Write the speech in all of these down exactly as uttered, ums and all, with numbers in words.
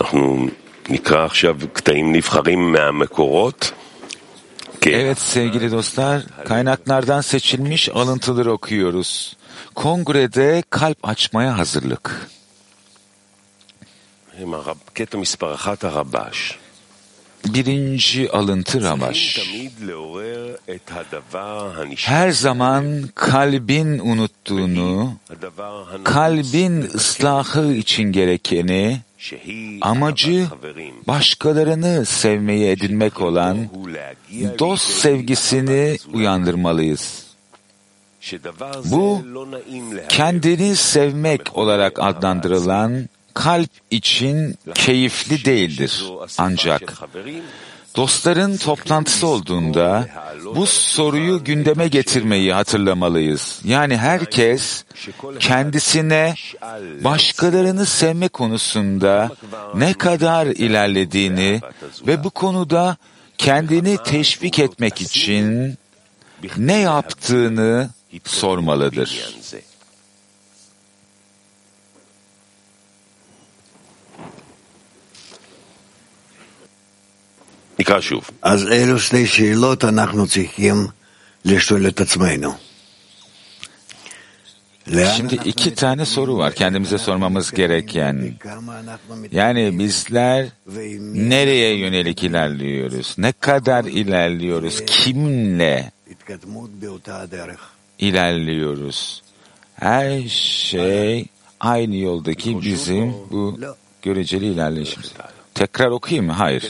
Evet sevgili dostlar, kaynaklardan seçilmiş alıntıları okuyoruz. Kongrede kalp açmaya hazırlık. Birinci alıntı Rabaş. Her zaman kalbin unuttuğunu, kalbin ıslahı için gerekeni, amacı başkalarını sevmeyi edinmek olan dost sevgisini uyandırmalıyız. Bu, kendini sevmek olarak adlandırılan kalp için keyifli değildir. Ancak dostların toplantısı olduğunda bu soruyu gündeme getirmeyi hatırlamalıyız. Yani herkes kendisine başkalarını sevme konusunda ne kadar ilerlediğini ve bu konuda kendini teşvik etmek için ne yaptığını sormalıdır. אז אלו שתי שאלות אנחנו צריכים לשאול את עצמנו. Şimdi iki tane soru var kendimize sormamız gereken. Yani bizler nereye yönelik ilerliyoruz? Ne kadar ilerliyoruz? Kiminle ilerliyoruz? Her şey aynı yoldaki bizim bu göreceli ilerleyişimiz. Tekrar okuyayım mı? Hayır.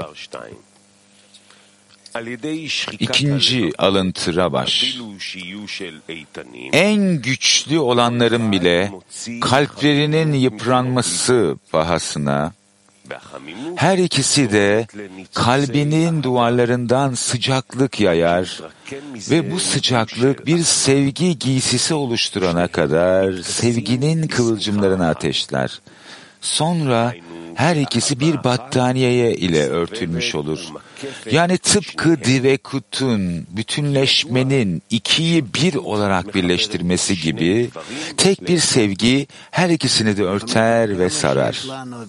İkinci alıntı Rabaş. En güçlü olanların bile kalplerinin yıpranması pahasına, her ikisi de kalbinin duvarlarından sıcaklık yayar ve bu sıcaklık bir sevgi giysisi oluşturana kadar sevginin kıvılcımlarını ateşler. Sonra her ikisi bir battaniyeye ile örtülmüş olur. Yani tıpkı Divekut'un bütünleşmenin ikiyi bir olarak birleştirmesi gibi tek bir sevgi her ikisini de örter ve sarar.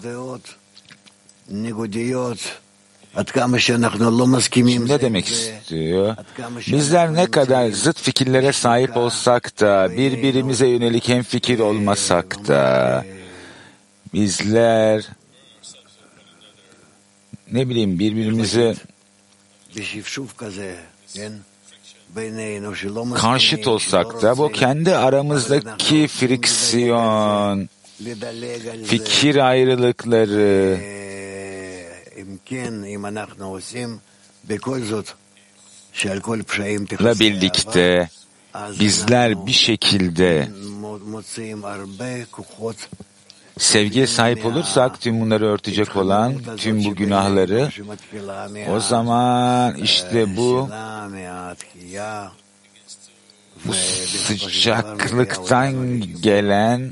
Şimdi ne demek istiyor? Bizler ne kadar zıt fikirlere sahip olsak da, birbirimize yönelik hemfikir olmasak da, bizler ne bileyim birbirimize karşıt olsak da bu kendi aramızdaki friksiyon, fikir ayrılıkları ile birlikte bizler bir şekilde sevgiye sahip olursak tüm bunları örtecek olan tüm bu günahları, o zaman işte bu bu sıcaklıktan gelen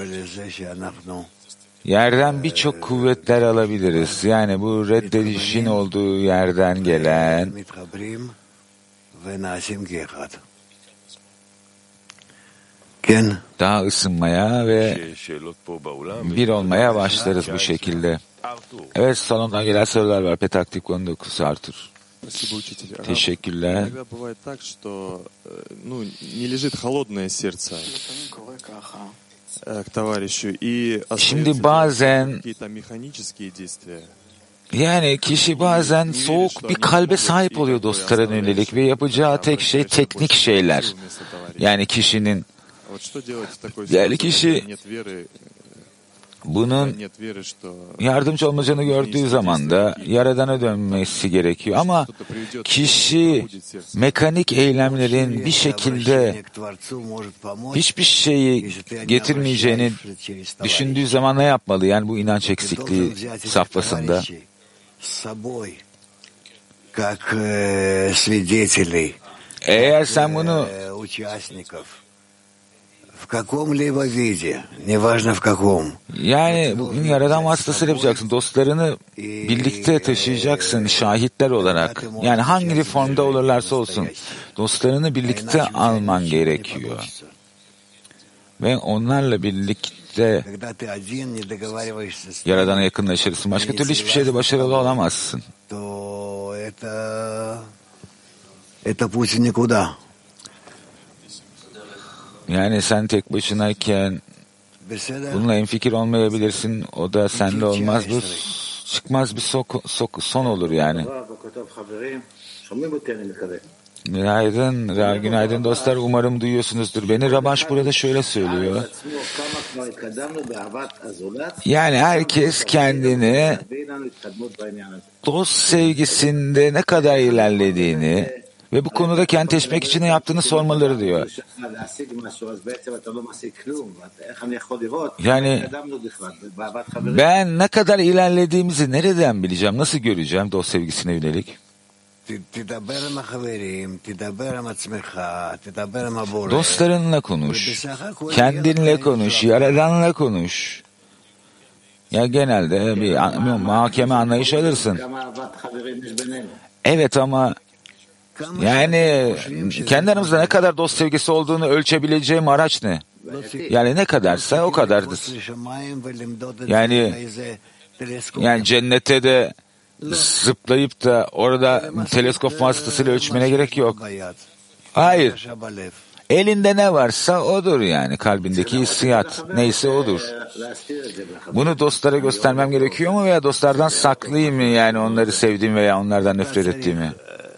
yerden birçok kuvvetler alabiliriz. Yani bu reddedişin olduğu yerden gelen daha ısınmaya ve bir olmaya başlarız bu şekilde. Evet, salondan gelen sorular var. Petaktik on dokuz Artur. Teşekkürler. Şimdi bazen yani kişi bazen soğuk bir kalbe sahip oluyor dostlara yönelik ve yapacağı tek şey teknik şeyler. Yani kişinin yani kişi bunun yardımcı olmayacağını gördüğü zaman da Yaradan'a dönmesi gerekiyor. Ama kişi mekanik eylemlerin bir şekilde hiçbir şeyi getirmeyeceğini düşündüğü zaman ne yapmalı? Yani bu inanç eksikliği safhasında. Eğer sen bunu yani bugün Yaradan vasıtasıyla yapacaksın. Dostlarını birlikte taşıyacaksın şahitler olarak. Yani hangi formda olurlarsa olsun dostlarını birlikte alman gerekiyor. Ve onlarla birlikte birlikte Yaradan'a yakınlaşırsın. Başka türlü hiçbir şeyde başarılı olamazsın. Yani sen tek başınayken bununla hemfikir olmayabilirsin. O da sende olmaz. Bu çıkmaz bir sok, sok, son olur yani. Günaydın, günaydın dostlar. Umarım duyuyorsunuzdur beni. Rabash burada şöyle söylüyor. Yani herkes kendini dost sevgisinde ne kadar ilerlediğini ve bu konuda kentleşmek için ne yaptığını sormaları diyor. Yani ben ne kadar ilerlediğimizi nereden bileceğim, nasıl göreceğim dost sevgisine yönelik? Dostlarınla konuş, kendinle konuş, Yaradan'la konuş. Ya genelde bir, bir mahkeme anlayış alırsın. Evet ama yani kendi aramızda ne kadar dost sevgisi olduğunu ölçebileceğim araç ne? Yani ne kadarsa o kadardır. Yani yani cennete de zıplayıp da orada teleskop vasıtasıyla ölçmene gerek yok. Hayır. Elinde ne varsa odur yani. Kalbindeki hissiyat neyse odur. Bunu dostlara göstermem gerekiyor mu veya dostlardan saklayayım mı yani onları sevdiğim veya onlardan nefret ettiğimi?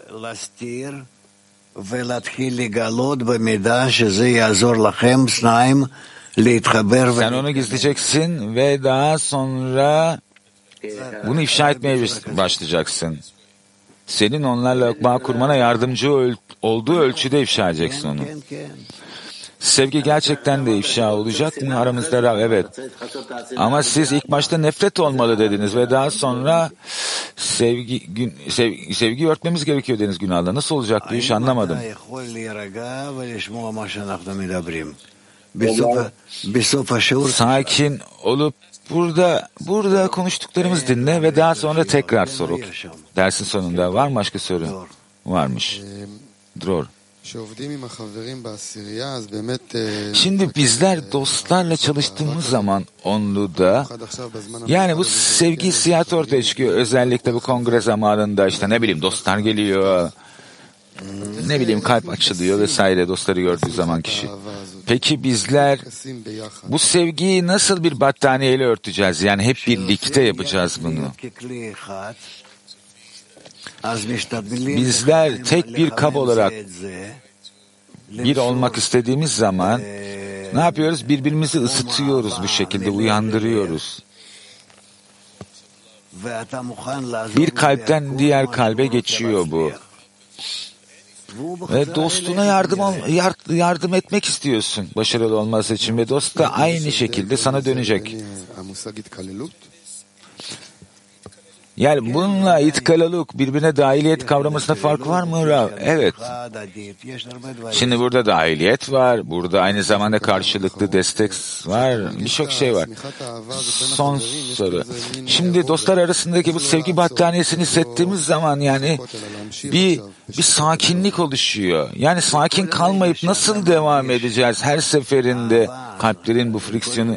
Sen onu gizleyeceksin ve daha sonra bunu ifşa etmeye başlayacaksın. Senin onlarla bağ kurmana yardımcı öl- olduğu ölçüde ifşa edeceksin onu. Sevgi gerçekten de ifşa olacak mı aramızda? Rav? Evet. Ama siz ilk başta nefret olmalı dediniz ve daha sonra sevgi gün, sevgi, sevgi örtmemiz gerekiyor dediniz günahla. Nasıl olacak bu iş anlamadım. Sakin olup burada burada konuştuklarımız dinle ve daha sonra tekrar sor. Dersin sonunda var mı başka soru? Varmış. Dror. Şimdi bizler dostlarla çalıştığımız zaman onluda yani bu sevgi hissiyatı ortaya çıkıyor. Özellikle bu kongre zamanında işte ne bileyim dostlar geliyor, ne bileyim kalp açılıyor vesaire dostları gördüğü zaman kişi. Peki bizler bu sevgiyi nasıl bir battaniyeyle örteceğiz? Yani hep birlikte yapacağız bunu. Bizler tek bir kab olarak bir olmak istediğimiz zaman ne yapıyoruz? Birbirimizi ısıtıyoruz bu şekilde, uyandırıyoruz. Bir kalpten diğer kalbe geçiyor bu. Ve dostuna yardım yardım etmek istiyorsun başarılı olması için ve dost da aynı şekilde sana dönecek. Yani bununla itkalaluk, birbirine dahiliyet kavramasında fark var mı Rav? Evet. Şimdi burada dahiliyet var, burada aynı zamanda karşılıklı destek var, birçok şey var. Son soru. Şimdi dostlar arasındaki bu sevgi battaniyesini hissettiğimiz zaman yani bir bir sakinlik oluşuyor. Yani sakin kalmayıp nasıl devam edeceğiz her seferinde kalplerin bu friksiyonu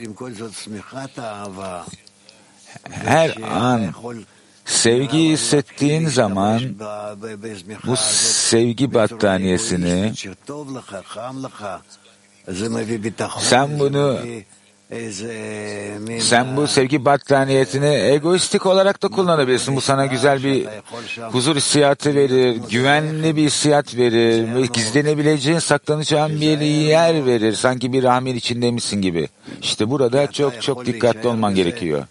her an sevgi hissettiğin zaman bu sevgi battaniyesini sen bunu sen bu sevgi battaniyetini egoistik olarak da kullanabilirsin. Bu sana güzel bir huzur hissiyatı verir, güvenli bir hissiyat verir ve gizlenebileceğin, saklanacağın bir yer verir. Sanki bir rahmin içindeymişsin gibi. İşte burada çok çok dikkatli olman gerekiyor.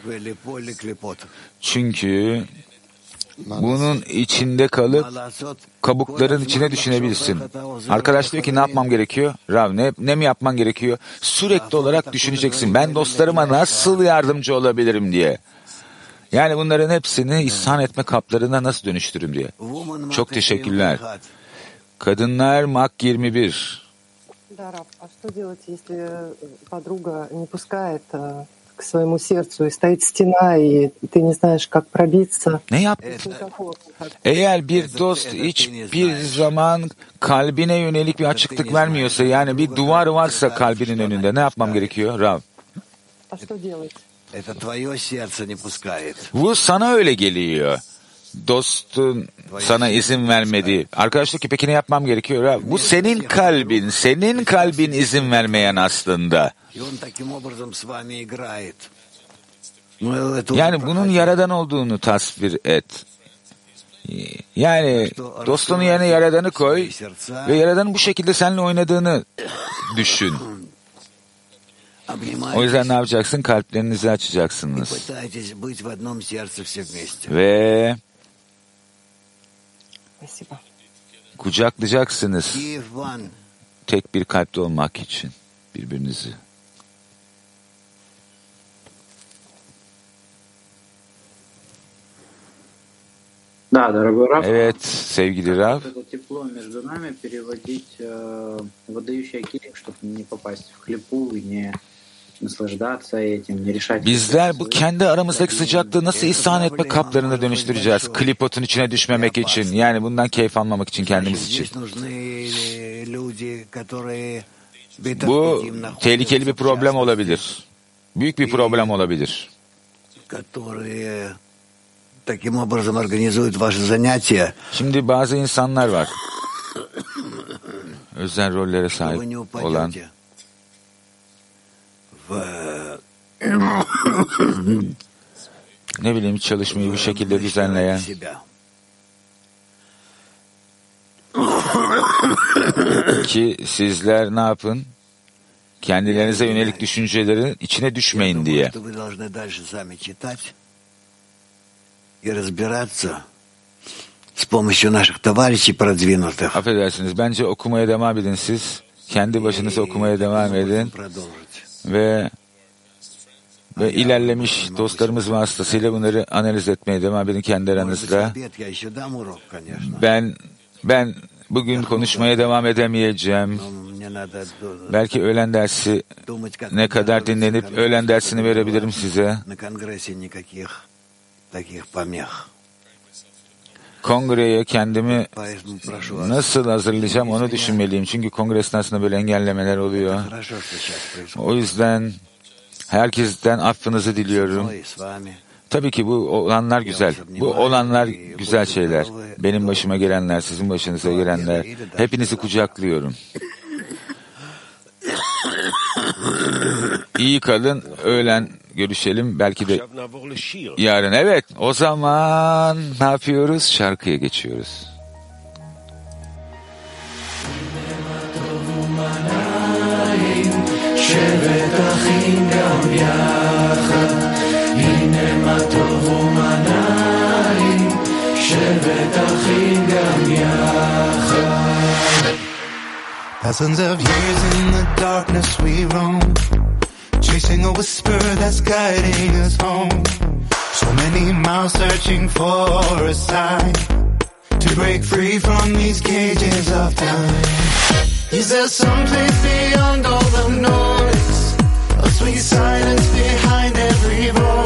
Çünkü bunun içinde kalıp kabukların içine düşünebilirsin. Arkadaş diyor ki ne yapmam gerekiyor? Rav ne, ne mi yapman gerekiyor? Sürekli olarak düşüneceksin. Ben dostlarıma nasıl yardımcı olabilirim diye. Yani bunların hepsini ihsan etme kaplarına nasıl dönüştürürüm diye. Çok teşekkürler. Kadınlar Mak yirmi bir. К своему сердцу, и стоит стена, и ты не знаешь, как пробиться. Ne yap? Eğer bir dost hiçbir zaman kalbine yönelik bir açıklık vermiyorsa, yani bir duvar varsa kalbinin önünde ne yapmam gerekiyor Rav? А что делать? Это твое сердце не пускает. Bu sana öyle geliyor. Dostun sana izin vermedi. Arkadaşlık peki ne yapmam gerekiyor? Ha? Bu senin kalbin, senin kalbin izin vermeyen aslında. Yani bunun Yaradan olduğunu tasvir et. Yani dostunun yerine Yaradan'ı koy ve Yaradan'ın bu şekilde seninle oynadığını düşün. O yüzden ne yapacaksın? Kalplerinizi açacaksınız. Ve kucaklayacaksınız. Tek bir kalpte olmak için birbirinizi. Да, дорогой Рав. Evet, sevgili Rav. Это тепло между нами переводить э, выдающий келим, чтобы не попасть в хлипу и не наслаждаться этим, не решать. Bizler bu kendi aramızdaki sıcaklığı nasıl ihsan etme kaplarına dönüştüreceğiz? Klipotun içine düşmemek için. Yani bundan keyif almamak için, kendimiz için. Bu tehlikeli bir problem olabilir. Büyük bir problem olabilir. Şimdi bazı insanlar var. Özel rollere sahip olan. Ne bileyim, çalışmayı bu şekilde düzenleyen. Ki sizler ne yapın? Kendilerinize yönelik düşüncelerin içine düşmeyin diye. Affedersiniz, bence okumaya devam edin siz. Kendi başınıza okumaya devam edin. Ve ve ilerlemiş dostlarımız vasıtasıyla bunları analiz etmeye devam edin kendi aranızda. Ben ben bugün konuşmaya devam edemeyeceğim. Belki öğlen dersi ne kadar dinlenip öğlen dersini verebilirim size. Kongreye kendimi nasıl hazırlayacağım onu düşünmeliyim. Çünkü kongre esnasında böyle engellemeler oluyor. O yüzden herkesten affınızı diliyorum. Tabii ki bu olanlar güzel. Bu olanlar güzel şeyler. Benim başıma gelenler, sizin başınıza gelenler. Hepinizi kucaklıyorum. İyi kalın, öğlen görüşelim. Belki de yarın. Evet, o zaman ne yapıyoruz? Şarkıya geçiyoruz. Thousands of years in the darkness we roam, chasing a whisper that's guiding us home. So many miles searching for a sign to break free from these cages of time. Is there some place beyond all the noise, a sweet silence behind every voice?